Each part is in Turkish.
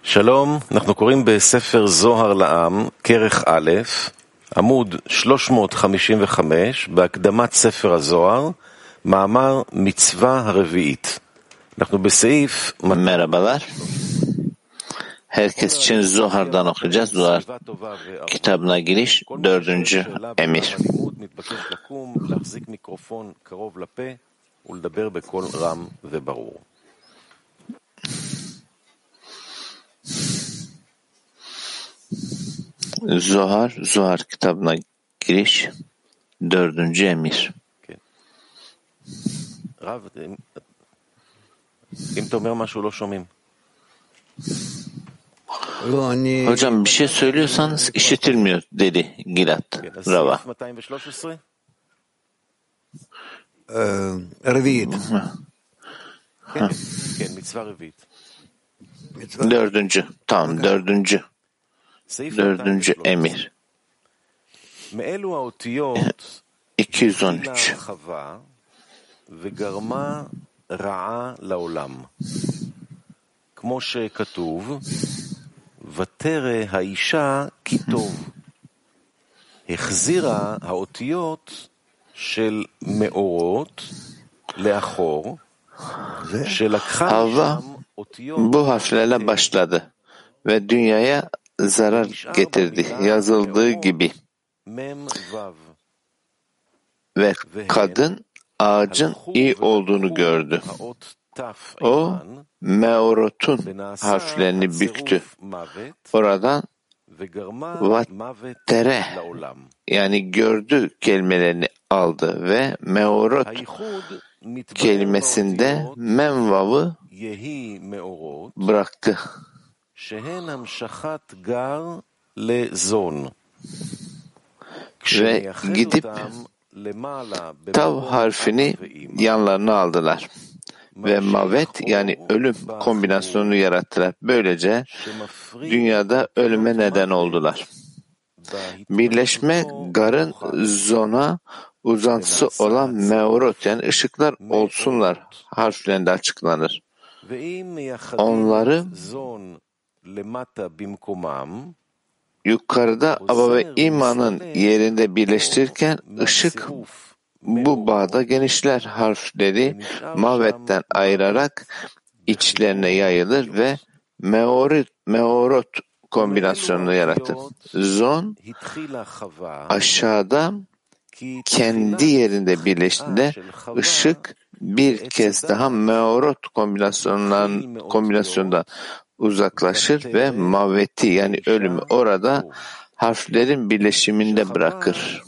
שלום, אנחנו קוראים בספר זוהר לעם, כרך א', עמוד 355, בהקדמת ספר הזוהר, מאמר מצווה הרביעית. אנחנו בסעיף... Merhabalar. Herkes için Zohar'dan okuyacağız. Zohar kitabına giriş 4. emir. Zohar kitabına giriş 4. emir. רב, אם אתה אומר משהו לא שומעים. Hocam bir şey söylüyorsanız işitilmiyor dedi Gilad Rava. רביעית. כן, מצווה רביעית. Dördüncü emir. מאלו האותיות 213. חווה וגרמה רעה לעולם. כמו שכתוב, ותרא האישה כי טוב. החזירה האותיות של מאורות לאחור, שלקחה Havva משם אותיות bu harflerle başladı ve dünyaya zarar getirdi. Yazıldığı gibi. מם וו. Ve kadın ağacın iyi olduğunu gördü. O meorotun harflerini büktü. Oradan vattere yani gördü kelimelerini aldı ve meorot kelimesinde memvavı bıraktı. Ve gidip tav harfini yanlarına aldılar. Ve mavet yani ölüm kombinasyonunu yarattılar. Böylece dünyada ölüme neden oldular. Birleşme garın zona uzantısı olan meorot yani ışıklar olsunlar harflerinde açıklanır. Onları yukarıda Aba ve İma'nın yerinde birleştirirken ışık bu bağda genişler harfleri mavetten ayırarak içlerine yayılır ve meorot kombinasyonunu yaratır. Zon aşağıda kendi yerinde birleştiğinde ışık bir kez daha meorot kombinasyondan uzaklaşır ve maveti yani ölümü orada harflerin birleşiminde bırakır.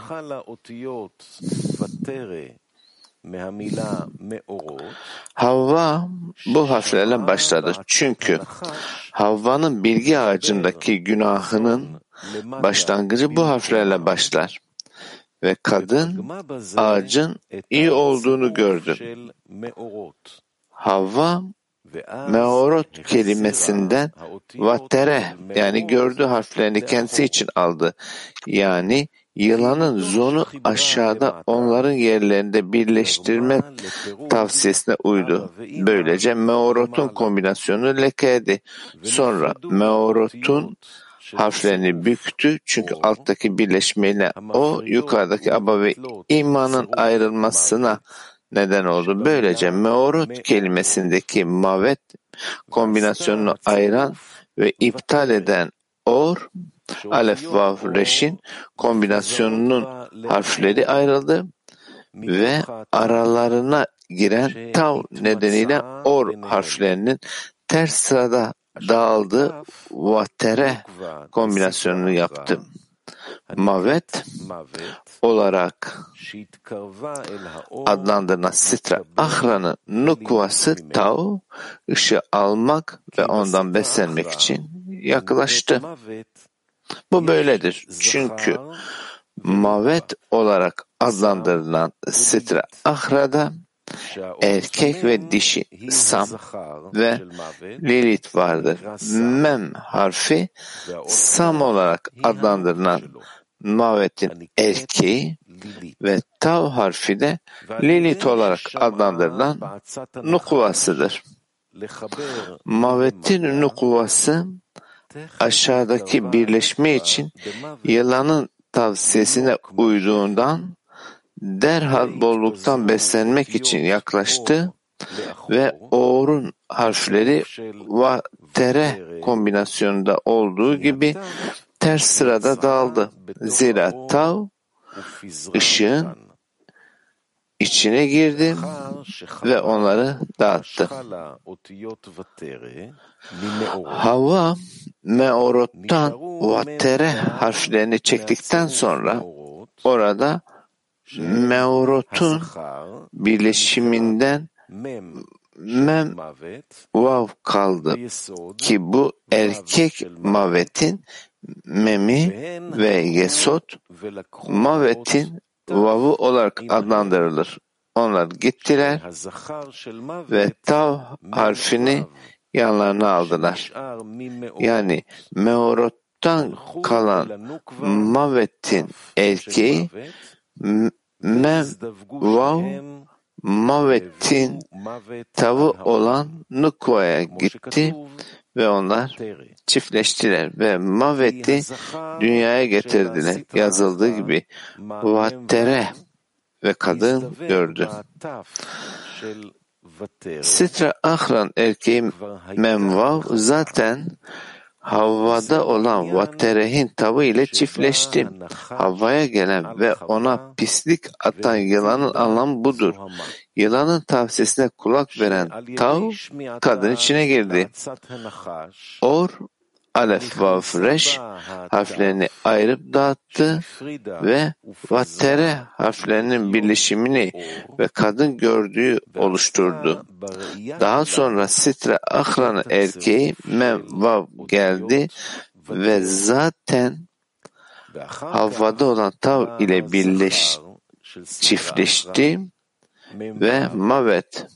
Havva bu harflerle başladı. Çünkü Havva'nın bilgi ağacındaki günahının başlangıcı bu harflerle başlar. Ve kadın ağacın iyi olduğunu gördü. Havva meorot kelimesinden vatere yani gördü harflerini kendisi için aldı. Yani yılanın zonu aşağıda onların yerlerinde birleştirme tavsiyesine uydu. Böylece meorotun kombinasyonu lekeydi. Sonra meorotun harflerini büktü çünkü alttaki birleşmeyle o yukarıdaki Aba ve İma'nın ayrılmasına neden oldu. Böylece meorot kelimesindeki mavet kombinasyonunu ayıran ve iptal eden or, alef, vav, reşin kombinasyonunun harfleri ayrıldı ve aralarına giren tav nedeniyle or harflerinin ters sırada dağıldığı vatere kombinasyonunu yaptı. Mavet olarak adlandırılan sitra ahra'nın nukvası tav ışığı almak ve ondan beslenmek için yaklaştı. Bu böyledir. Çünkü mavet olarak adlandırılan sitra ahra'da erkek ve dişi Sam ve Lilith vardır. Mem harfi Sam olarak adlandırılan mavetin erkeği ve tav harfi de Lilith olarak adlandırılan nukvasıdır. Mavet'in nukuvası aşağıdaki birleşme için yılanın tavsiyesine uyduğundan derhal bolluktan beslenmek için yaklaştı ve Or'un harfleri va tere kombinasyonunda olduğu gibi ters sırada dağıldı. Zira tav ışığın içine girdi ve onları dağıttı. Havva meorottan vattere harflerini çektikten sonra orada meorotun birleşiminden mem vav kaldı ki bu erkek mavetin memi ve yesot mavetin vav'ı olarak adlandırılır. Onlar gittiler ve tav harfini yanlarına aldılar. Yani meorottan kalan mavetin erkeği mem vav mavetin tavı olan nukvaya gitti ve onlar çiftleştiler ve maveti dünyaya getirdiler. Yazıldığı gibi vattere ve kadın gördü. Sitra Ahran erkeği Memvav zaten Havva'da olan Vattere'hin tavı ile çiftleşti. Havva'ya gelen ve ona pislik atan yılanın anlamı budur. Yılanın tavsiyesine kulak veren tav kadın içine girdi. Or, alef, vav, reş harflerini ayırıp dağıttı ve vattere harflerinin birleşimini ve kadın gördüğü oluşturdu. Daha sonra Sitra Ahran'ın erkeği Mem Vav geldi ve zaten Havva'da olan tav ile çiftleşti ve Mavet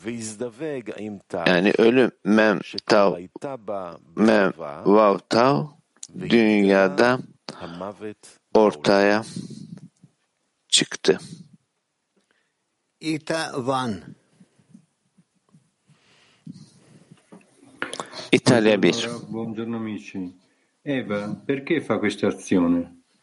yani ölüm mem tav mem vav tav dünyada ortaya çıktı. İtalya 1. Buongiorno amici. Eva, perché fa questa azione?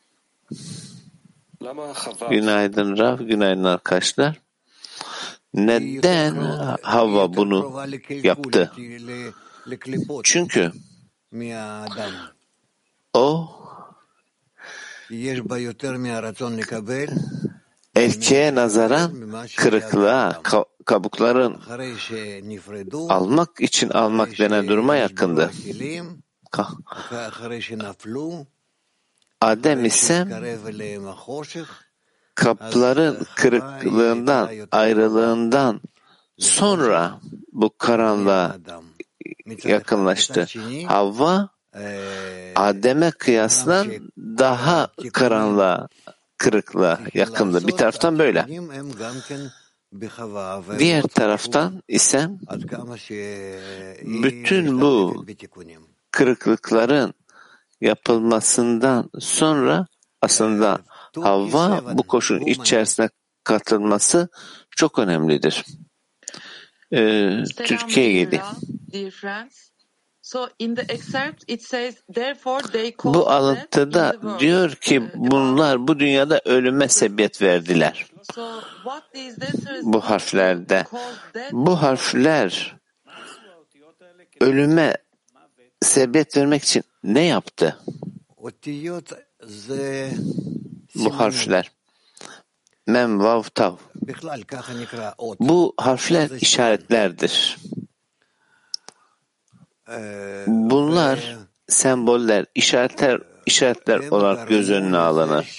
Günaydın Rav, günaydın arkadaşlar. Neden Havva bunu yaptı? Çünkü o erkeğe nazaran kırıklığa, kabukların almak için almak denen duruma yakındı. Adem ise kapların kırıklığından, ayrılığından sonra bu karanlığa yakınlaştı. Havva, Adem'e kıyasla daha karanlığa, kırıklığa yakındı. Bir taraftan böyle. Diğer taraftan ise bütün bu kırıklıkların yapılmasından sonra aslında Havva bu koşulun içerisine katılması çok önemlidir. Türkiye'ye geldi. Bu alıntıda diyor ki bunlar bu dünyada ölüme sebebiyet verdiler. Bu harflerde. Bu harfler ölüme sebebiyet vermek için ne yaptı? Bu harfler. Mem, vav, tav. Bu harfler işaretlerdir. Bunlar semboller, işaretler olarak göz önüne alınır.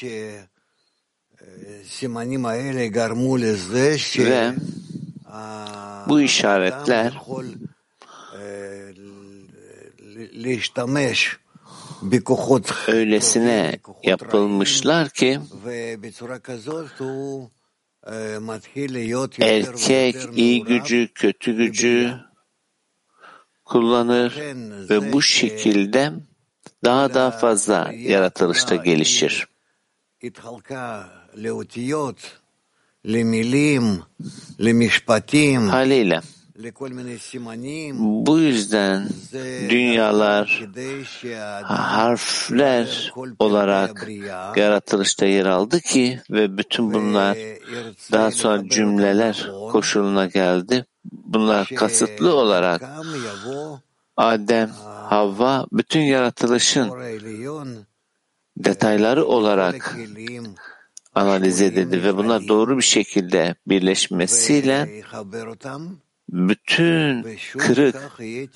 Ve bu işaretler öylesine yapılmışlar ki erkek iyi gücü, kötü gücü kullanır ve bu şekilde daha fazla yaratılışta gelişir. Haliyle Bu yüzden dünyalar harfler olarak yaratılışta yer aldı ki ve bütün bunlar daha sonra cümleler koşuluna geldi. Bunlar kasıtlı olarak Adem, Havva bütün yaratılışın detayları olarak analiz edildi ve bunlar doğru bir şekilde birleşmesiyle bütün kırık,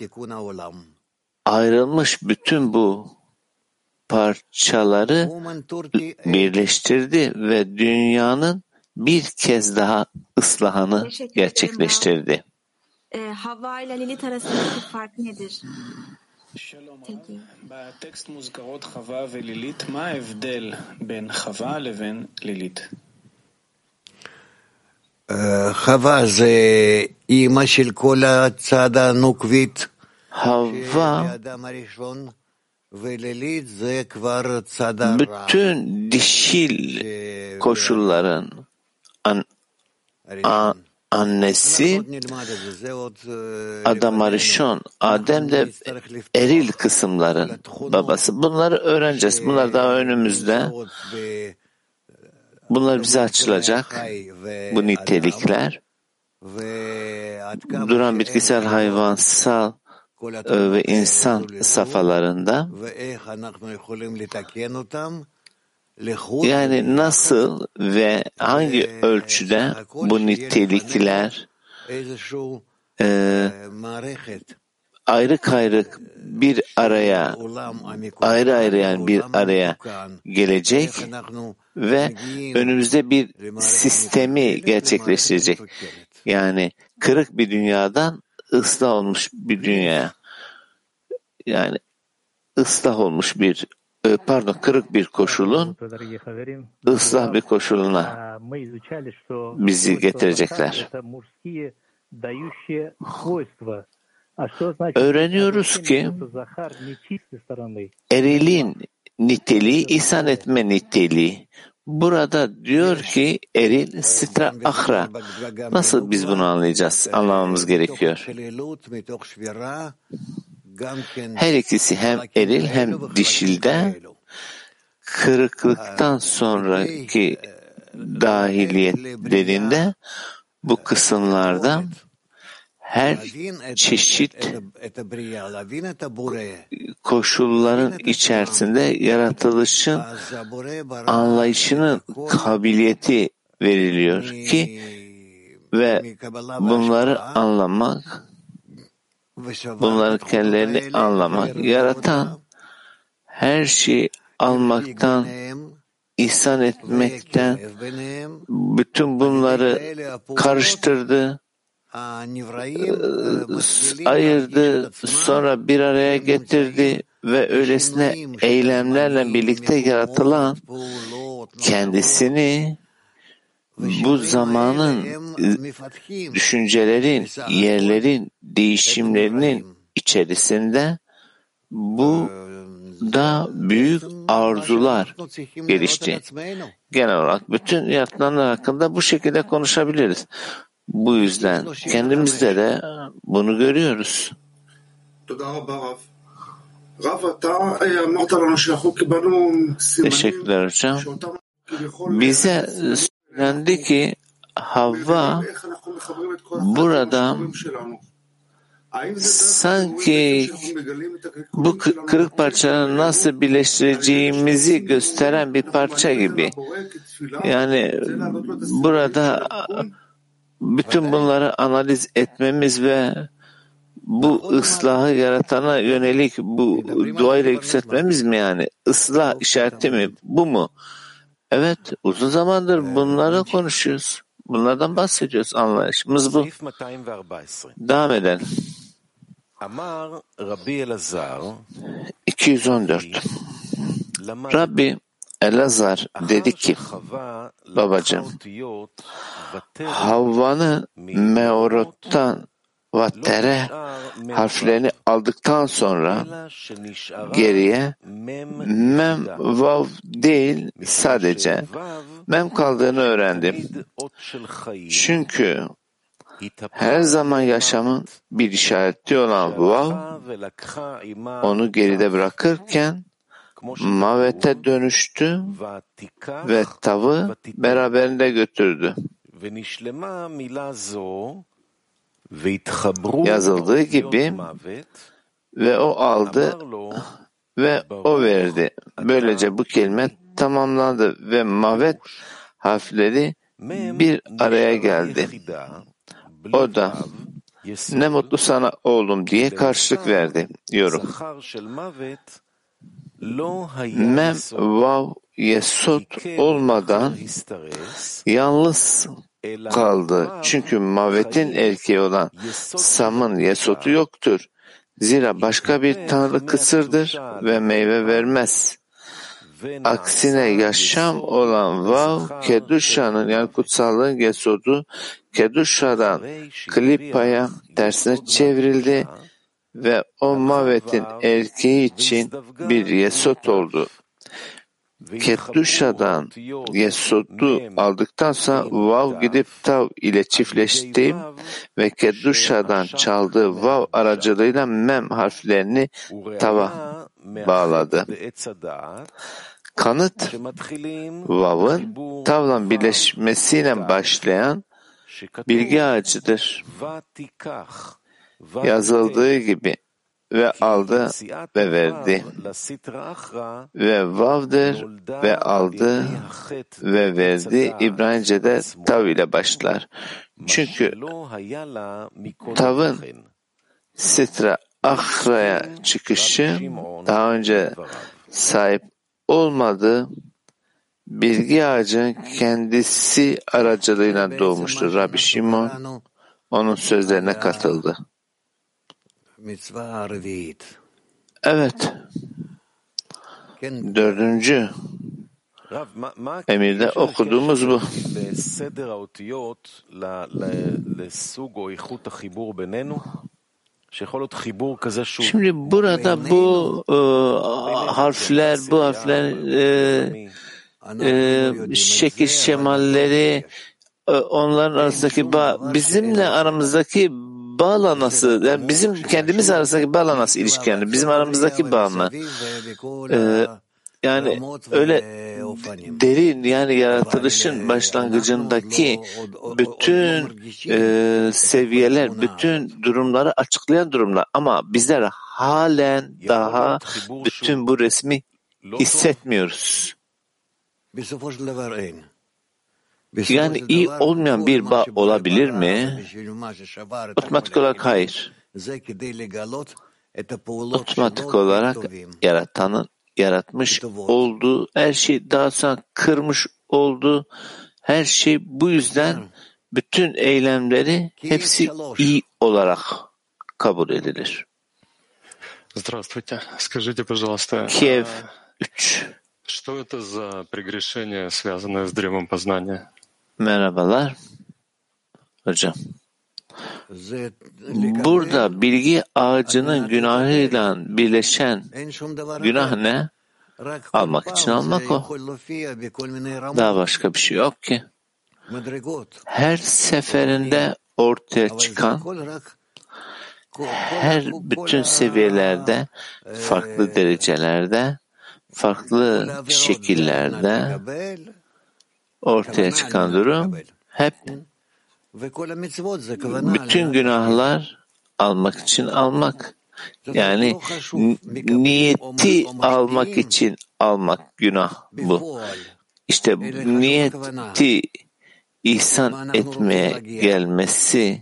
ayrılmış bütün bu parçaları birleştirdi ve dünyanın bir kez daha ıslahını gerçekleştirdi. Havva ile Lilith arasındaki fark nedir? בטקסט מוזכרות חווה ולילית, מה ההבדל בין חווה לבין לילית? חווה זה אימא של כל הצד הנוקבית Havva האדם הראשון, ולילית זה כבר צד הרע. bütün dişil koşulların annesi Adam Arishon, Adem de eril kısımların babası. Bunları öğreneceğiz. Bunlar daha önümüzde. Bunlar bize açılacak. Bu nitelikler. Duran bitkisel, hayvansal ve insan safhalarında. Yani nasıl ve hangi ölçüde bu nitelikler ayrı bir araya, ayrı yani bir araya gelecek ve önümüzde bir sistemi gerçekleştirecek. Yani kırık bir dünyadan ıslah olmuş bir dünyaya, yani ıslah olmuş bir kırık bir koşulun ıslah bir koşuluna bizi getirecekler. Öğreniyoruz ki erilin niteliği, ihsan etme niteliği. Burada diyor ki eril sitra ahra. Nasıl biz bunu anlamamız gerekiyor. Her ikisi hem eril hem dişilde kırıklıktan sonraki dahiliyetlerinde bu kısımlarda her çeşit koşulların içerisinde yaratılışın anlayışının kabiliyeti veriliyor ki ve bunları anlamak, bunların kendilerini anlamak, yaratan her şeyi almaktan, ihsan etmekten, bütün bunları karıştırdı, ayırdı, sonra bir araya getirdi ve öylesine eylemlerle birlikte yaratılan kendisini bu zamanın düşüncelerin, yerlerin, değişimlerinin içerisinde bu da büyük arzular gelişti. Genel olarak bütün yaratılanlar hakkında bu şekilde konuşabiliriz. Bu yüzden kendimizde de bunu görüyoruz. Teşekkürler hocam. Bize söylendi ki Havva burada sanki bu kırık parçaları nasıl birleştireceğimizi gösteren bir parça gibi. Yani burada bütün bunları analiz etmemiz ve bu ıslahı yaratana yönelik bu duayla yükseltmemiz mi yani? Islah işareti mi? Bu mu? Evet, uzun zamandır bunları konuşuyoruz. Bunlardan bahsediyoruz. Anlayışımız bu. Devam edelim. 214. Rabbi Elazar dedi ki, babacığım, Havva'nın meorottan ve tere harflerini aldıktan sonra geriye mem vav değil sadece mem kaldığını öğrendim. Çünkü her zaman yaşamın bir işareti olan Vav, onu geride bırakırken Mavet'e dönüştü ve Tav'ı beraberinde götürdü. Yazıldığı gibi ve o aldı ve o verdi. Böylece bu kelime tamamlandı ve Mavet harfleri bir araya geldi. O da ne mutlu sana oğlum diye karşılık verdi. Yorum. Mem, Vav, Yesod olmadan yalnız kaldı. Çünkü Mavet'in erkeği olan Sam'ın Yesod'u yoktur. Zira başka bir tanrı kısırdır ve meyve vermez. Aksine yaşam olan Vav, Kedusha'nın yani kutsallığın Yesod'u Kedusha'dan Klipa'ya tersine çevrildi ve o Mavet'in erkeği için bir Yesod oldu. Kedusha'dan Yesod'u aldıktan sonra Vav gidip Tav ile çiftleşti ve Kedusha'dan çaldığı Vav aracılığıyla Mem harflerini Tav'a bağladı. Kanıt, Vav'ın Tav'la birleşmesiyle başlayan bilgi ağacıdır. Yazıldığı gibi ve aldı ve verdi ve Vav'dır ve aldı ve verdi İbranice'de Tav ile başlar. Çünkü Tav'ın Sitra Achra'ya çıkışı daha önce sahip olmadığı bilgi ağacının kendisi aracılığıyla doğmuştur. Rabbi Şimon onun sözlerine katıldı. Evet. 4. emirde okuduğumuz bu. Şimdi burada bu harfler, şekil şemalleri, onların arasındaki bizimle aramızdaki bağla nasıl? Yani bizim kendimiz arasındaki bağla nasıl ilişki yani? Bizim aramızdaki bağ mı? Yani öyle derin yani yaratılışın başlangıcındaki bütün seviyeler, bütün durumları açıklayan durumlar. Ama bizler halen daha bütün bu resmi hissetmiyoruz. Yani iyi olmayan bir bağ olabilir mi? Otomatik olarak hayır. Otomatik olarak yaratanın yaratmış olduğu her şey daha sonra kırmış olduğu her şey bu yüzden bütün eylemleri hepsi iyi olarak kabul edilir. Здравствуйте. Скажите, пожалуйста, Kiev 3. что это за прегрешение, связанное с древом познания? Merhabalar. Hocam. Burada bilgi ağacının günahıyla birleşen günah ne? Almak için almak o. Daha başka bir şey yok ki. Her seferinde ortaya çıkan her bütün seviyelerde, farklı derecelerde, farklı şekillerde ortaya çıkan durum hep bütün günahlar almak için almak. Yani niyeti almak için almak günah bu. İşte niyeti ihsan etmeye gelmesi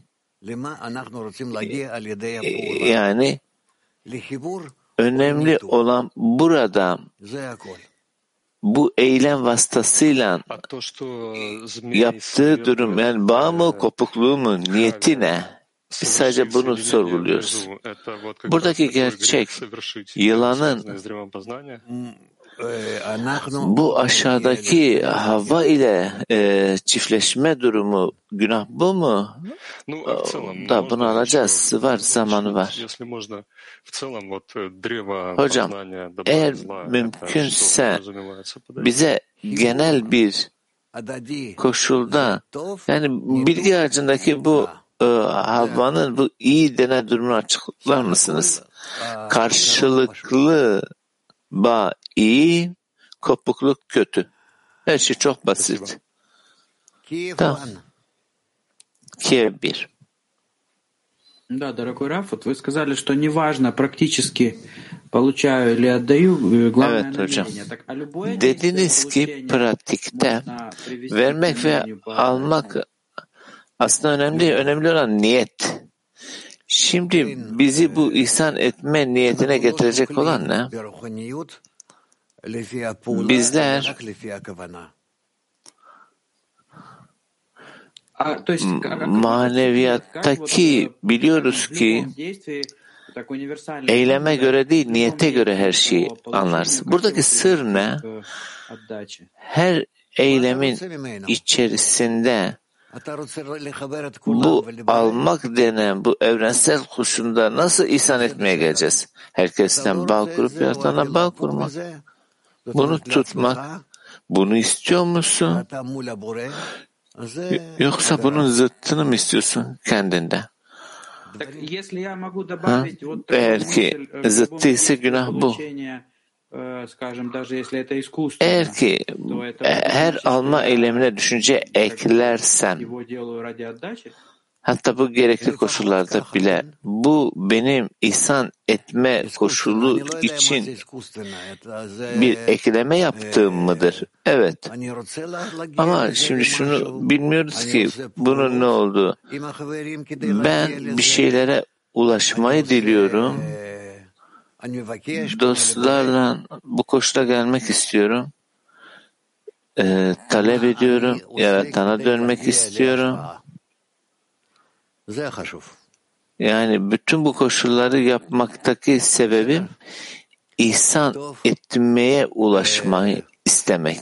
yani önemli olan burada bu eylem vasıtasıyla yaptığı durum yani bağ mı kopukluğu mu niyeti ne? Biz sadece bunu sorguluyoruz. Buradaki gerçek yılanın bu aşağıdaki Havva ile çiftleşme durumu günah bu mu? Da bunu alacağız. Var zamanı var. Hocam eğer mümkünse bize genel bir koşulda yani bilgi ağacındaki bu Havva'nın bu iyi denen durumunu açıklar mısınız? Karşılıklı bağ iyi, kopukluk kötü. Her şey çok basit. Tamam. Kiev 1. Да, дорогой Раф, вот вы сказали, что неважно практически получаю или отдаю, главное намерение. Так, а любое Dediniz ki pratikte vermek ve almak aslında önemli değil. Önemli olan niyet. Şimdi bizi bu ihsan etme niyetine getirecek olan ne? Bizler maneviyattaki biliyoruz ki eyleme göre değil, niyete göre her şeyi anlarsın. Buradaki sır ne? Her eylemin içerisinde bu almak denen bu evrensel koşulda nasıl ihsan etmeye geleceğiz? Herkesten bağ kurup yaratana bağ kurmak. Bunu tutmak. Bunu istiyor musun? Yoksa bunun zıttını mı istiyorsun kendinde? Eğer ki zıttı ise günah bu. Eğer ki her alma eylemine düşünce eklersen, hatta bu gerekli koşullarda bile bu benim ihsan etme koşulu için bir ekleme yaptığım mıdır? Evet. Ama şimdi şunu bilmiyoruz ki bunun ne olduğu. Ben bir şeylere ulaşmayı diliyorum. Dostlarla bu koşula gelmek istiyorum. Talep ediyorum. Yaratana dönmek istiyorum. Yani bütün bu koşulları yapmaktaki sebebim ihsan etmeye ulaşmayı istemek.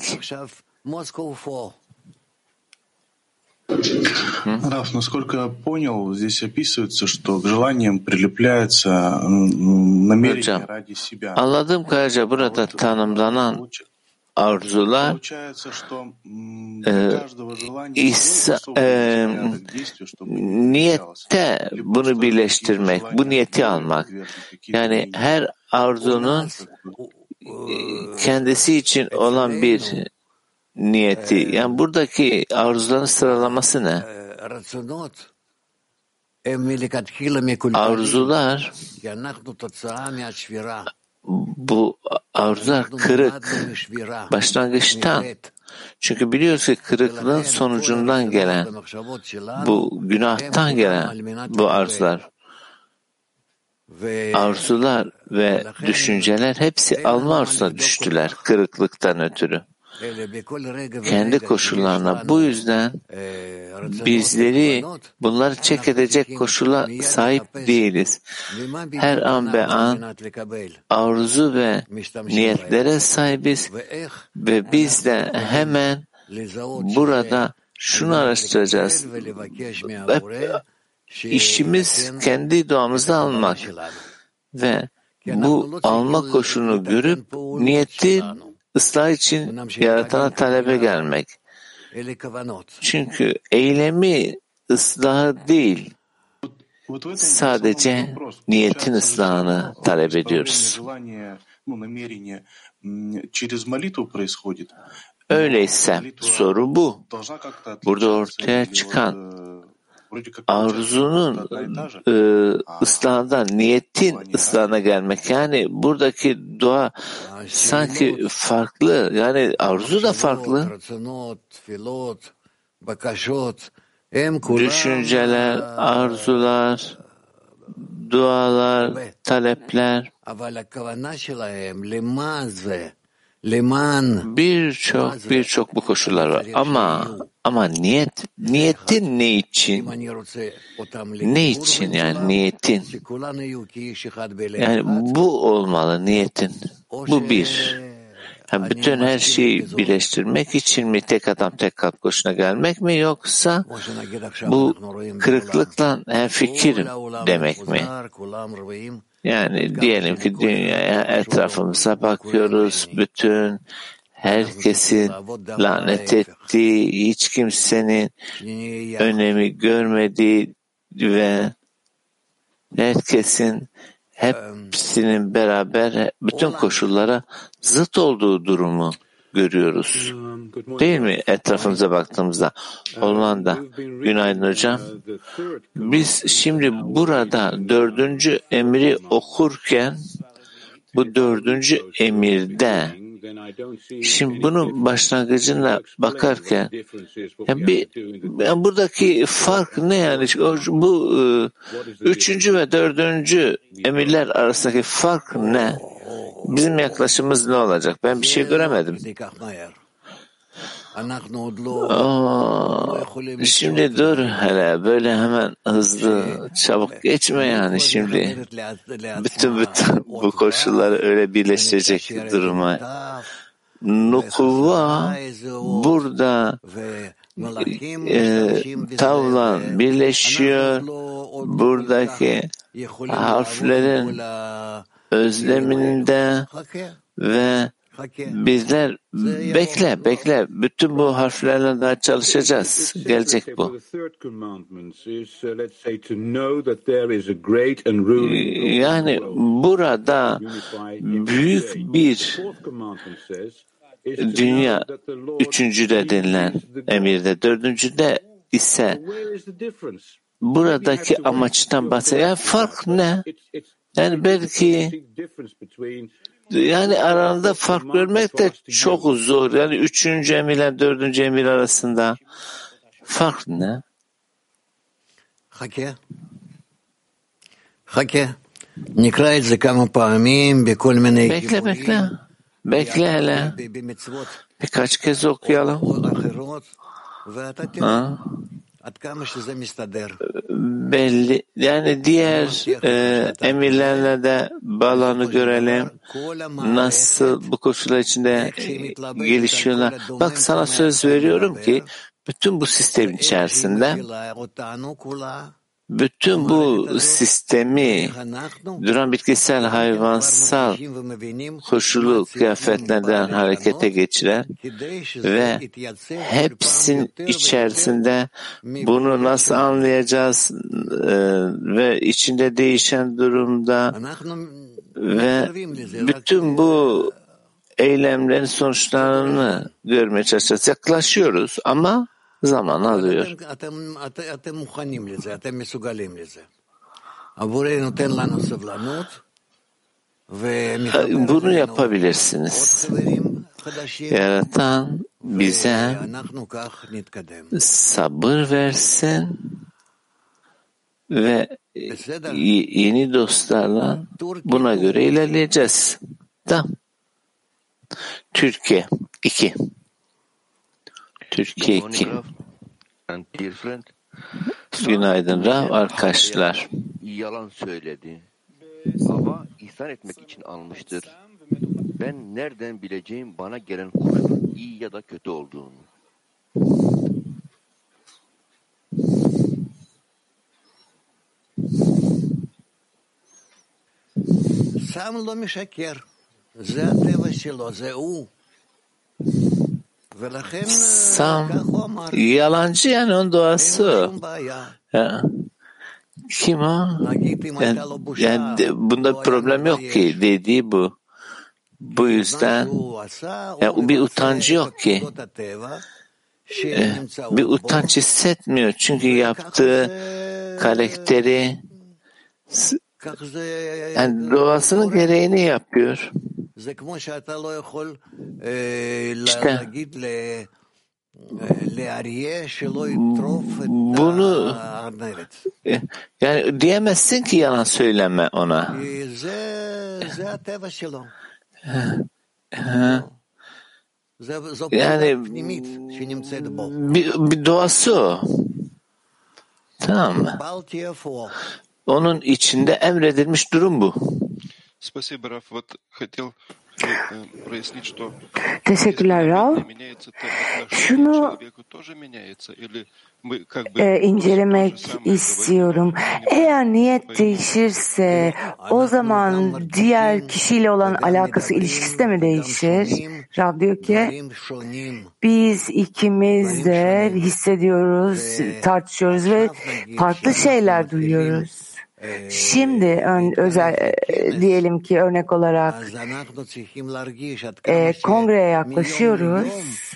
Раф, насколько я понял, здесь описывается, что к желаниям прилепляется намерение ради себя. Anladığım kadarıyla burada tanımlanan arzular niyette bunu birleştirmek, bu niyeti almak. Yani her arzunun kendisi için olan bir niyeti. Yani buradaki arzuların sıralaması ne? Arzular, bu arzular kırık başlangıçtan. Çünkü biliyoruz ki kırıklığın sonucundan gelen, bu günahtan gelen bu arzular. Arzular ve düşünceler hepsi alma arzusuna düştüler kırıklıktan ötürü. Kendi koşullarına. Bu yüzden bizleri bunları çek edecek koşula sahip değiliz. Her an be an arzu ve niyetlere sahibiz ve biz de hemen burada şunu araştıracağız. İşimiz kendi doğamızda almak ve bu alma koşulunu görüp niyeti ıslah için yaratana talebe gelmek. Çünkü eylemi ıslahı değil, sadece niyetin ıslahını talep ediyoruz. Öyleyse soru bu. Burada ortaya çıkan arzunun ıslahından niyetin ıslahına gelmek. Yani buradaki dua sanki farklı. Yani arzu da farklı. Düşünceler, arzular, dualar, talepler birçok bu koşullar var. Ama niyetin ne için? Ne için yani niyetin? Yani bu olmalı niyetin. Bu bir. Yani bütün her şeyi birleştirmek için mi tek adam tek kalp koşuna gelmek mi yoksa bu kırıklıkla hemfikirim demek mi? Yani diyelim ki dünyaya etrafımıza bakıyoruz, bütün herkesin lanet ettiği, hiç kimsenin önemi görmediği ve herkesin hepsinin beraber bütün koşullara zıt olduğu durumu görüyoruz. Değil mi? Etrafımıza baktığımızda. Hollanda. Günaydın hocam. Biz şimdi burada 4. emri okurken bu 4. emirde şimdi bunun başlangıcına bakarken buradaki fark ne yani? Bu 3. ve 4. emirler arasındaki fark ne? Bizim yaklaşımımız ne olacak? Ben bir şey göremedim. Şimdi dur hele böyle hemen hızlı çabuk geçme yani şimdi bütün bu koşulları öyle birleştirecek duruma. Nukuvva burada tavlan birleşiyor, buradaki harflerin özleminde ve bizler bekle bütün bu harflerle daha çalışacağız. Gelecek bu. Yani burada büyük bir dünya 3.'de denilen emirde, 4.'de ise buradaki amaçtan bahsediyor. Yani fark ne? Yani belki yani aralarında fark görmek de çok zor. Yani 3. emirle 4. emir arasında fark ne? Bekle hele. Birkaç kez okuyalım. Belli. Yani diğer emirlerle de bağlarını görelim. Nasıl bu koşullar içinde gelişiyorlar. Bak sana söz veriyorum ki bütün bu sistemin içerisinde bütün bu sistemi duran bitkisel, hayvansal koşulu kıyafetlerden harekete geçiren ve hepsinin içerisinde bunu nasıl anlayacağız ve içinde değişen durumda ve bütün bu eylemlerin sonuçlarını görmeye çalışacağız. Yaklaşıyoruz ama zaman alıyor. Bunu yapabilirsiniz. Yaratan bize sabır versin ve yeni dostlarla buna göre ilerleyeceğiz. Tamam. Türkiye 2. Türkiye 2. Günaydın Rav arkadaşlar. Yalan söyledi. Ama ihsan etmek için almıştır. Ben nereden bileceğim bana gelen kuşun iyi ya da kötü olduğunu? Sam yalancı yani onun doğası. Ya. Kim o? Yani bunda problem yok ki dediği bu. Bu yüzden yani bir utancı yok ki. Bir utanç hissetmiyor çünkü yaptığı karakteri yani doğasının gereğini yapıyor. İşte bunu yani diyemezsin ki yalan söyleme ona. Yani bir doğası o. Tamam mı? Onun içinde emredilmiş durum bu. Teşekkürler Rav. Şunu incelemek istiyorum. Eğer niyet değişirse o zaman diğer kişiyle olan alakası, ilişkisi de mi değişir? Rav diyor ki biz ikimiz de hissediyoruz, tartışıyoruz ve farklı şeyler duyuyoruz. Şimdi diyelim ki örnek olarak kongreye yaklaşıyoruz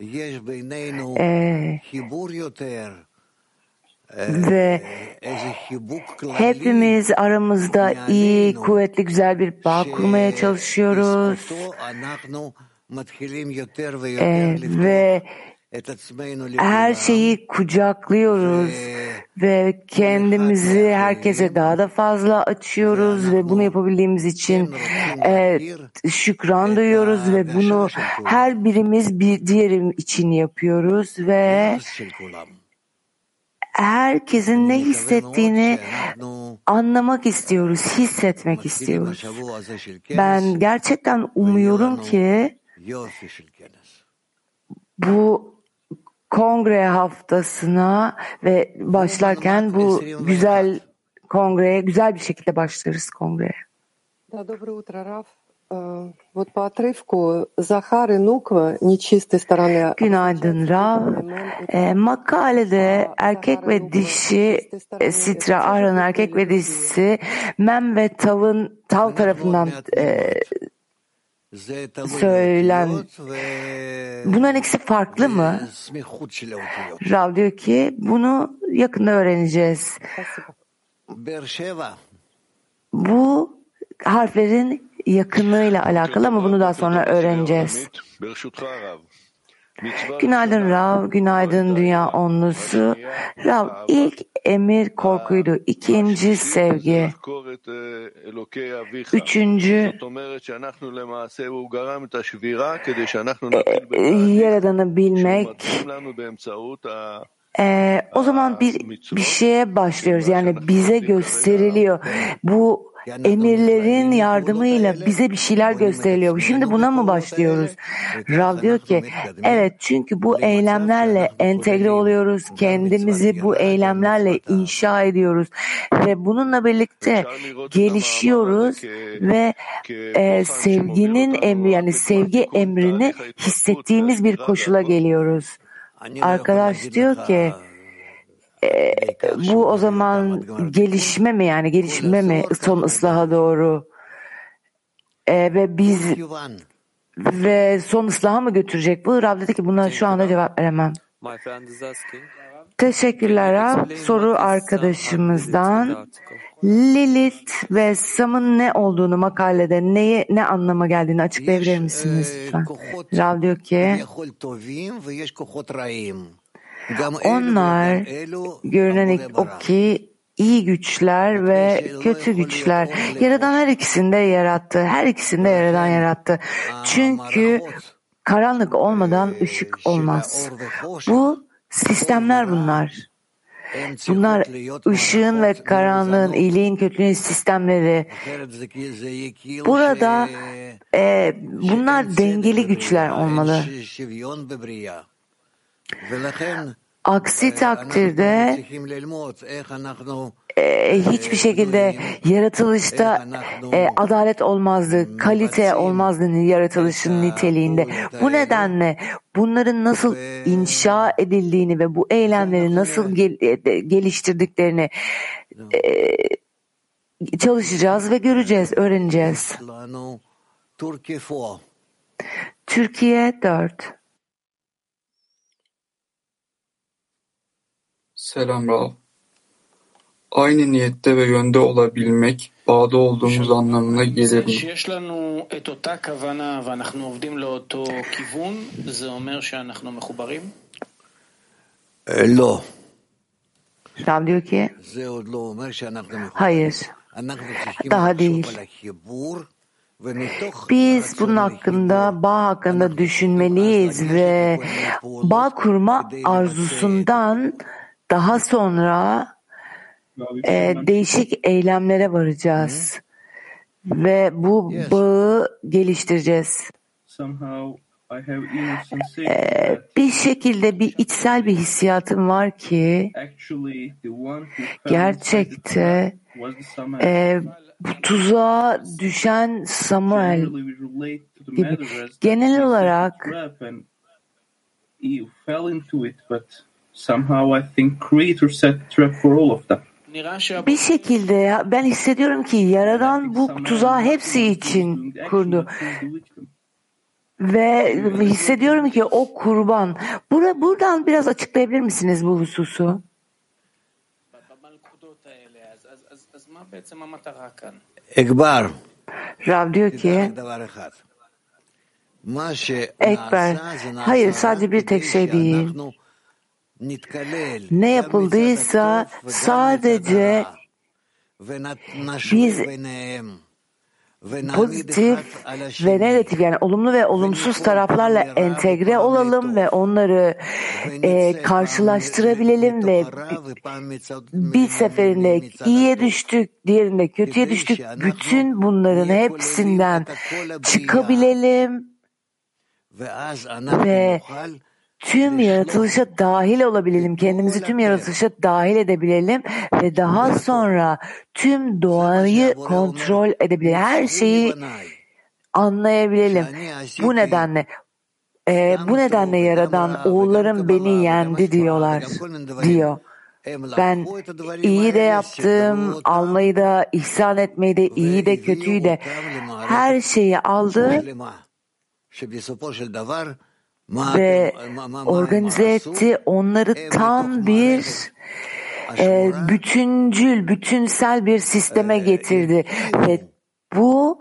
ve hepimiz aramızda iyi, kuvvetli, güzel bir bağ kurmaya çalışıyoruz ve her şeyi kucaklıyoruz ve kendimizi herkese daha da fazla açıyoruz ve bunu yapabildiğimiz için şükran duyuyoruz ve bunu her birimiz bir diğeri için yapıyoruz ve herkesin ne hissettiğini anlamak istiyoruz, hissetmek istiyoruz. Ben gerçekten umuyorum ki bu kongre haftasına ve başlarken bu güzel kongreye, güzel bir şekilde başlarız kongreye. Доброе утро, Раф. Вот по отрывку Захар и Нуква нечистой стороны. Günaydın Rav. Makalede erkek ve dişi Sitra, Aron erkek ve dişisi Mem ve Tav tarafından bunların ikisi farklı mı? Rav diyor ki bunu yakında öğreneceğiz. Bu harflerin yakınlığıyla alakalı ama bunu daha sonra öğreneceğiz. Günaydın Rav, günaydın Dünya Onlusu. Rav, ilk emir korkuydu, ikinci sevgi, üçüncü Yaradan'ı bilmek. O zaman bir şeye başlıyoruz, yani bize gösteriliyor. Bu emirlerin yardımıyla bize bir şeyler gösteriliyor. Şimdi buna mı başlıyoruz? Rav diyor ki evet, çünkü bu eylemlerle entegre oluyoruz. Kendimizi bu eylemlerle inşa ediyoruz. Ve bununla birlikte gelişiyoruz ve sevginin emri, yani sevgi emrini hissettiğimiz bir koşula geliyoruz. Arkadaş diyor ki bu o zaman gelişme mi, yani gelişme mi son ıslaha doğru ve biz ve son ıslaha mı götürecek bu? Rav dedi ki buna şu anda cevap veremem. Teşekkürler Rav. Soru arkadaşımızdan. Lilith ve Sam'ın ne olduğunu makalede ne anlama geldiğini açıklayabilir misiniz lütfen? Rav diyor ki onlar görünen o ki iyi güçler ve kötü güçler. Yaradan her ikisini de yarattı. Her ikisini de Yaradan yarattı. Çünkü karanlık olmadan ışık olmaz. Bu sistemler bunlar. Bunlar ışığın ve karanlığın, iyiliğin, kötülüğün sistemleri. Burada bunlar dengeli güçler olmalı. Aksi takdirde hiçbir şekilde yaratılışta adalet olmazdı, kalite olmazdı yaratılışın niteliğinde. Bu nedenle bunların nasıl inşa edildiğini ve bu eylemleri nasıl geliştirdiklerini çalışacağız ve göreceğiz, öğreneceğiz. Türkiye 4. Selam Rav. Aynı niyette ve yönde olabilmek, bağda olduğumuz anlamına gelir mi? Rav diyor ki hayır, daha değil. Biz bunun hakkında, bağ hakkında düşünmeliyiz ve bağ kurma arzusundan daha sonra değişik eylemlere varacağız. ve bu bağı geliştireceğiz. Bir şekilde bir içsel bir hissiyatım var ki gerçekte bu tuzağa düşen Samuel gibi genel olarak bir şekilde ben hissediyorum ki Yaradan bu tuzağı hepsi için kurdu. Ve hissediyorum ki o kurban. Buradan biraz açıklayabilir misiniz bu hususu? Ekber. Rav diyor ki Ekber, hayır sadece bir tek şey değil. Ne yapıldıysa sadece biz pozitif ve negatif yani olumlu ve olumsuz taraflarla entegre olalım ve onları karşılaştırabilelim ve bir seferinde iyiye düştük, diğerinde kötüye düştük. Bütün bunların hepsinden çıkabilelim ve tüm yaratılışa dahil olabilelim, kendimizi tüm yaratılışa dahil edebilelim ve daha sonra tüm doğayı kontrol edebilelim, her şeyi anlayabilelim. Bu nedenle Yaradan oğullarım beni yendi diyor. Ben iyi de yaptım, almayı da, ihsan etmeyi de, iyi de, kötüyü de, her şeyi aldı ve organize etti. Onları tam bir bütüncül, bütünsel bir sisteme getirdi. Ve bu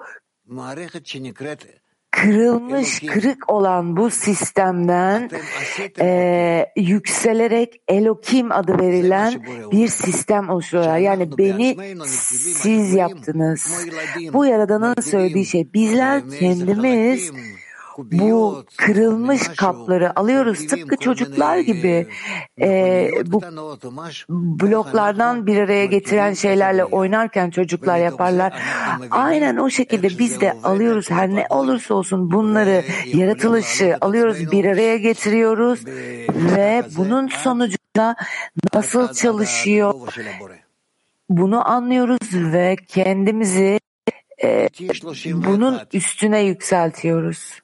kırılmış, kırık olan bu sistemden yükselerek Elokim adı verilen bir sistem oluşturuyorlar. Yani beni siz yaptınız. Bu Yaradan'ın söylediği şey. Bizler kendimiz bu kırılmış kapları alıyoruz. Tıpkı çocuklar gibi bu bloklardan bir araya getiren şeylerle oynarken çocuklar yaparlar. Aynen o şekilde biz de alıyoruz. Her ne olursa olsun bunları, yaratılışı alıyoruz, bir araya getiriyoruz ve bunun sonucunda nasıl çalışıyor bunu anlıyoruz ve kendimizi bunun üstüne yükseltiyoruz.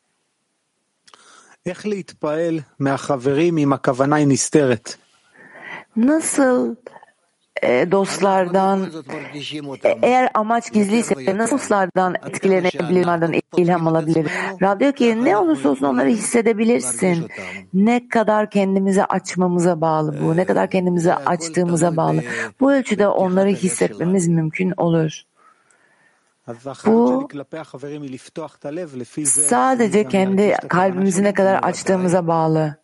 Nasıl dostlardan, eğer amaç gizliyse nasıl dostlardan etkilenebilir, onlardan ilham alabilir? Rab diyor ki ne olursa olsun onları hissedebilirsin. Ne kadar kendimize açmamıza bağlı bu, ne kadar kendimize açtığımıza bağlı. Bu ölçüde onları hissetmemiz mümkün olur. Bu sadece kendi kalbimizi ne kadar açtığımıza bağlı.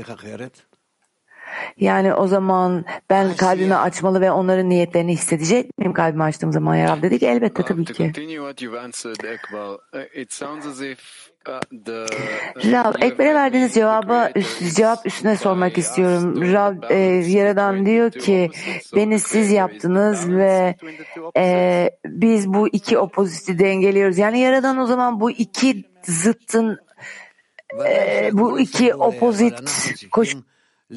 Yani o zaman ben kalbimi açmalı ve onların niyetlerini hissedecek miyim kalbimi açtığım zaman? Ya Rab dedi ki elbette tabii ki. Rab, Ekber'e verdiğiniz cevap üstüne sormak istiyorum. Rab, Yaradan diyor ki beni siz yaptınız ve biz bu iki opoziti dengeliyoruz. Yani Yaradan o zaman bu iki zıttın bu iki opozit koşulun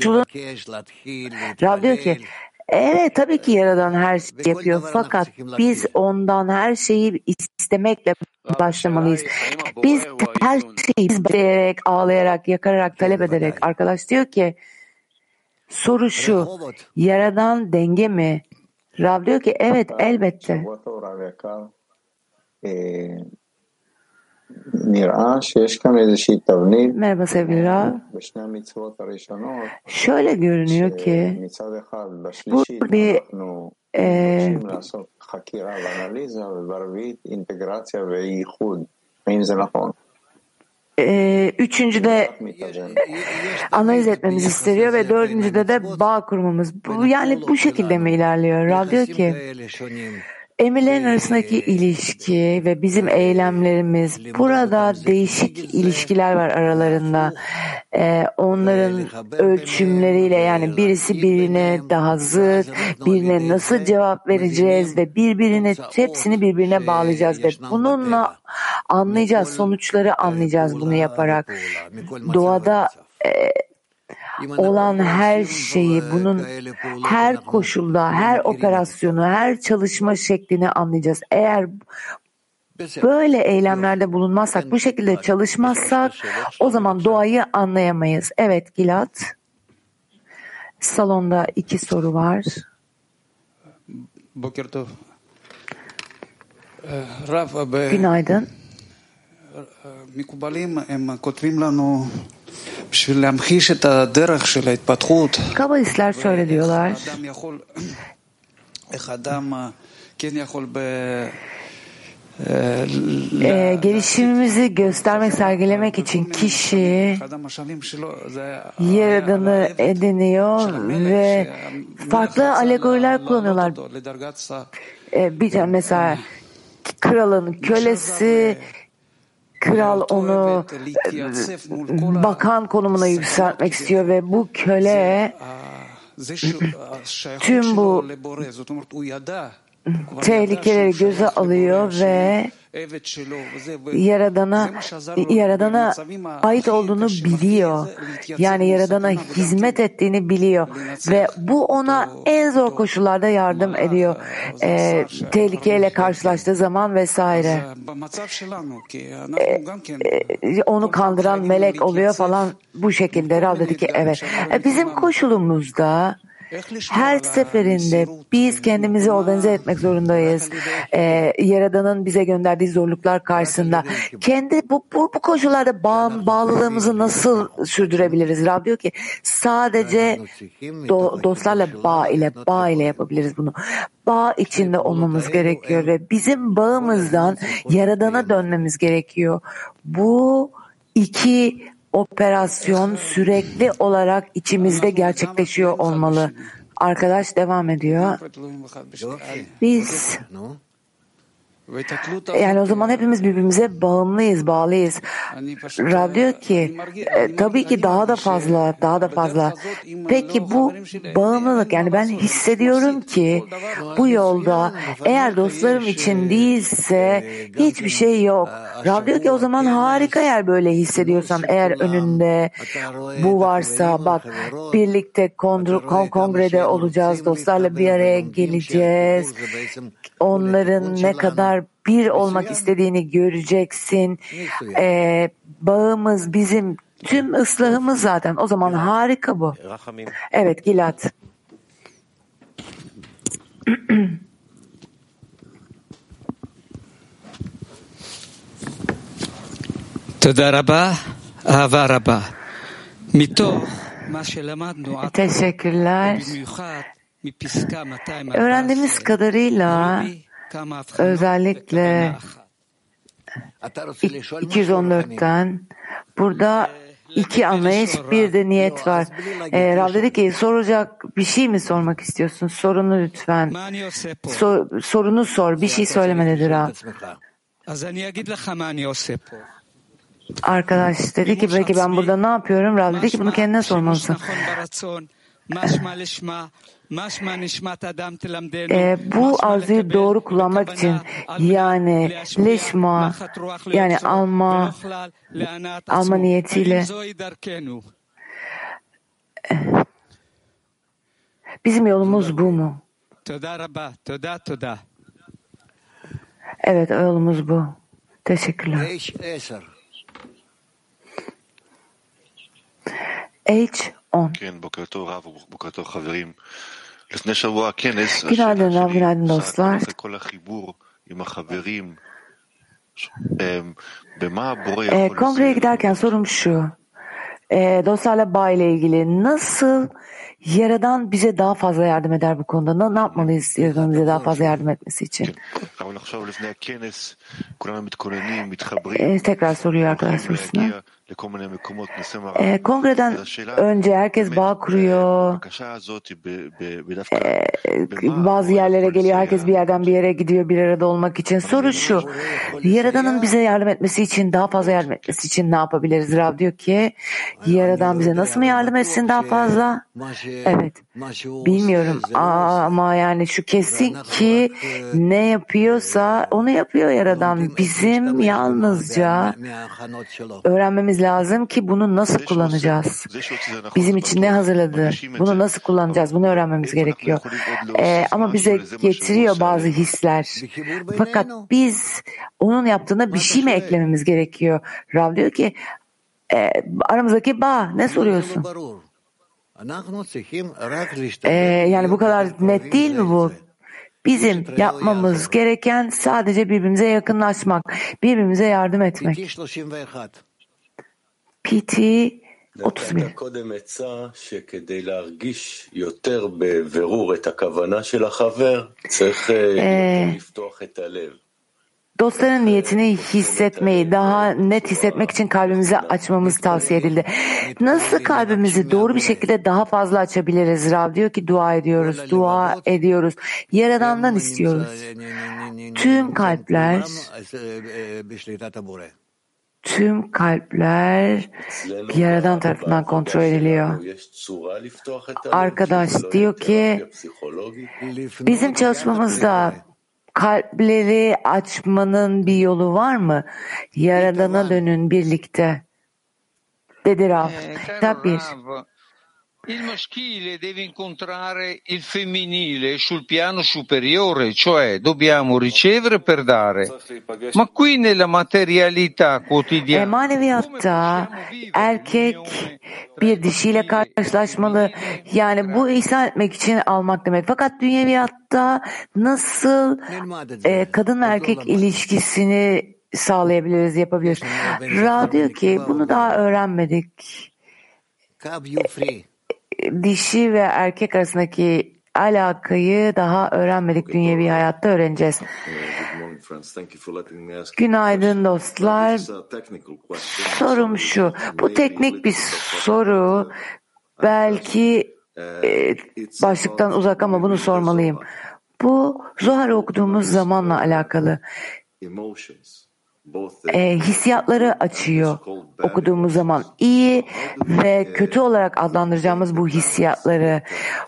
Rab diyor ki evet tabii ki Yaradan her şeyi yapıyor fakat biz ondan her şeyi istemekle başlamalıyız. Biz her şeyi isteyerek, ağlayarak, yakararak, talep ederek. Arkadaş diyor ki soru şu, Yaradan denge mi? Rab diyor ki evet elbette. Merhaba sevgili Rab. Şöyle görünüyor ki bu bir üçüncüde analiz etmemiz isteniyor ve dördüncüde de bağ kurmamız. Yani bu şekilde mi ilerliyor? Rab diyor ki Emirlerin arasındaki ilişki ve bizim eylemlerimiz, burada değişik ilişkiler var aralarında. Onların ölçümleriyle, yani birisi birine daha zıt, birine nasıl cevap vereceğiz ve hepsini birbirine bağlayacağız ve bununla anlayacağız, sonuçları anlayacağız bunu yaparak. Doğada olan her şeyi, bunun her koşulda, her operasyonu, her çalışma şeklini anlayacağız. Eğer böyle eylemlerde bulunmazsak, bu şekilde çalışmazsak o zaman doğayı anlayamayız. Evet Gilad. Salonda 2 soru var. Günaydın. Kabalistler şöyle diyorlar. Gelişimimizi göstermek, sergilemek için kişi Yaradan'ı ediniyor ve farklı alegoriler kullanıyorlar. Bir mesela kralın kölesi, kral onu bakan konumuna yükseltmek istiyor ve bu köle tüm bu tehlikeleri göze alıyor ve Yaradan'a ait olduğunu biliyor. Yani Yaradan'a hizmet ettiğini biliyor ve bu ona en zor koşullarda yardım ediyor. Tehlikeyle karşılaştığı zaman vesaire. Onu kandıran melek oluyor falan, bu şekilde. Rav dedi ki evet. Bizim koşulumuzda her seferinde biz kendimizi organize etmek zorundayız. Yaradan'ın bize gönderdiği zorluklar karşısında. Bu koşullarda bağlılığımızı nasıl sürdürebiliriz? Rab diyor ki sadece dostlarla bağ ile yapabiliriz bunu. Bağ içinde olmamız gerekiyor ve bizim bağımızdan Yaradan'a dönmemiz gerekiyor. Bu 2 operasyon sürekli olarak içimizde gerçekleşiyor olmalı. Arkadaş devam ediyor. Biz yani o zaman hepimiz birbirimize bağlıyız. Rab diyor ki tabii ki daha da fazla. Peki bu bağımlılık, yani ben hissediyorum ki bu yolda eğer dostlarım için değilse hiçbir şey yok. Rab diyor ki o zaman harika, eğer böyle hissediyorsan, eğer önünde bu varsa, bak birlikte kongrede olacağız, dostlarla bir araya geleceğiz. Onların ne kadar bir olmak istediğini göreceksin. Bağımız bizim tüm ıslahımız zaten. O zaman harika bu. Evet Gilad. Teşekkürler. Öğrendiğimiz kadarıyla özellikle 214'ten burada 2 anlayış, bir de niyet var. Rav dedi ki soracak bir şey mi sormak istiyorsun? Sorunu lütfen. Sorunu sor. Bir şey söyleme dedi Rav. Arkadaş dedi ki belki ben burada ne yapıyorum? Rav dedi ki bunu kendine sormalısın. Bu arzuyu doğru kullanmak için, yani leşma, yani alma niyetiyle bizim yolumuz bu mu? Evet, yolumuz bu. Teşekkürler. H10. Günaydın Rav, günaydın dostlar. Kongreye giderken sorum şu. Dostlarla bağ ile ilgili nasıl Yaradan bize daha fazla yardım eder bu konuda. Ne yapmalıyız Yaradan'ın bize daha fazla yardım etmesi için? Tekrar soruyor arkadaş sorusuna. Kongreden önce herkes bağ kuruyor. Bazı yerlere geliyor. Herkes bir yerden bir yere gidiyor bir arada olmak için. Soru şu. Yaradan'ın bize yardım etmesi için, daha fazla yardım etmesi için ne yapabiliriz? Rav diyor ki Yaradan bize nasıl mı yardım etsin daha fazla? Evet. Bilmiyorum ama yani şu kesin ki ne yapıyorsa onu yapıyor Yaradan. Bizim yalnızca öğrenmemiz lazım ki bunu nasıl kullanacağız? Bizim için ne hazırladı? Bunu nasıl kullanacağız? Bunu öğrenmemiz gerekiyor. Ama bize getiriyor bazı hisler. Fakat biz onun yaptığına bir şey mi eklememiz gerekiyor? Rav diyor ki aramızdaki bağ ne soruyorsun? Yani bu kadar net değil mi bu? Bizim yapmamız gereken sadece birbirimize yakınlaşmak, birbirimize yardım etmek. PT 31. Dostların niyetini hissetmeyi, daha net hissetmek için kalbimizi açmamız tavsiye edildi. Nasıl kalbimizi doğru bir şekilde daha fazla açabiliriz? Rav diyor ki dua ediyoruz. Yaradan'dan istiyoruz. Tüm kalpler Yaradan tarafından kontrol ediliyor. Arkadaş diyor ki bizim çalışmamızda kalpleri açmanın bir yolu var mı? Yaradan'a dönün birlikte. Dedi Rav. Tabii. Il maschile deve incontrare il femminile sul piano superiore, cioè dobbiamo ricevere per dare. Ma qui nella materialità quotidiana. Maneviyatta erkek bir dişiyle karşılaşmalı. Yani bu ihsan etmek için almak demek. Fakat dünyeviyatta nasıl kadın ve erkek ilişkisini sağlayabiliriz, yapabiliriz? Ra diyor ki bunu daha öğrenmedik. Dişi ve erkek arasındaki alakayı daha öğrenmedik. Dünyevi hayatta öğreneceğiz. Günaydın dostlar. Sorum şu. Bu teknik bir soru. Belki başlıktan uzak ama bunu sormalıyım. Bu Zohar okuduğumuz zamanla alakalı. Hissiyatları açıyor okuduğumuz zaman. İyi ve kötü olarak adlandıracağımız bu hissiyatları.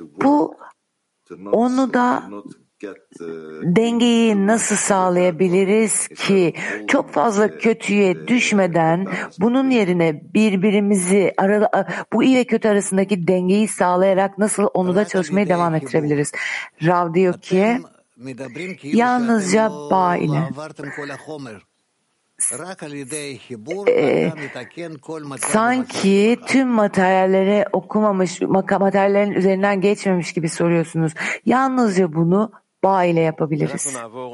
Onu da dengeyi nasıl sağlayabiliriz ki çok fazla kötüye düşmeden bunun yerine birbirimizi bu iyi ve kötü arasındaki dengeyi sağlayarak nasıl onu da çalışmaya devam ettirebiliriz? Rav diyor ki yalnızca bağ ile sanki tüm materyalleri okumamış, materyallerin üzerinden geçmemiş gibi soruyorsunuz. Yalnızca bunu bağ ile yapabiliriz.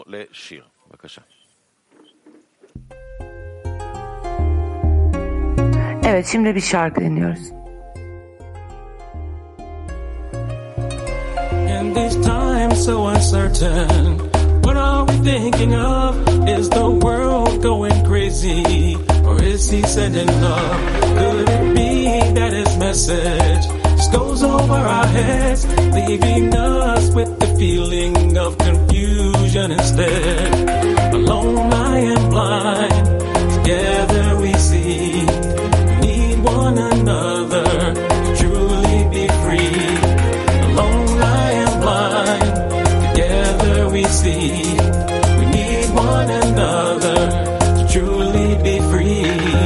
Evet, şimdi bir şarkı dinliyoruz. In this time so uncertain, what are we thinking of? Is the world going crazy, or is he sending love? Could it be that his message just goes over our heads, leaving us with the feeling of confusion instead? Alone I am blind, together we see, we need one another to truly be free. Alone I am blind, together we see, we need one another to truly be free.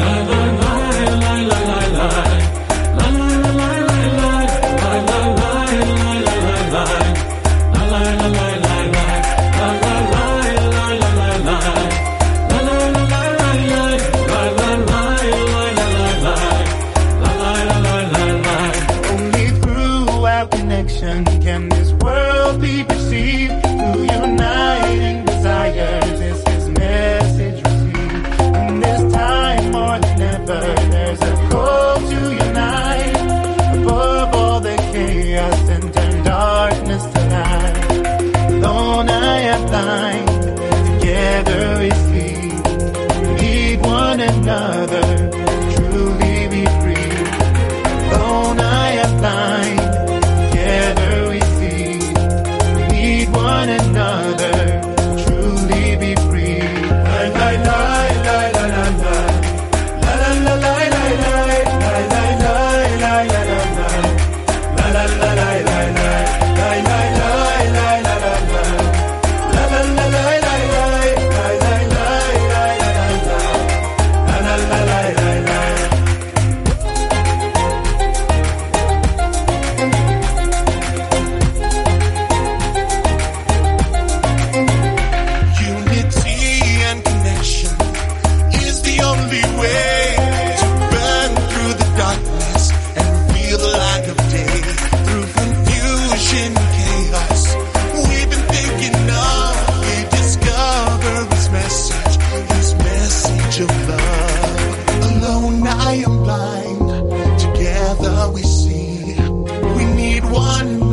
Only through our connection can this world be perceived. Through uniting desires is his message received. In this time another, truly be free. Alone I am blind, together we see. We need one another, truly be free. La la la la la la la. La la la la la la. La la la la la la la. La la la la la la. La la la la la la la. La la la la la la. La la la la la la. La la la la la la. Unity and connection is the only way to burn through the darkness and reveal the light of day. Through confusion and chaos, we've been thinking of, we discover His message of love. Alone I am blind, together we see. We need one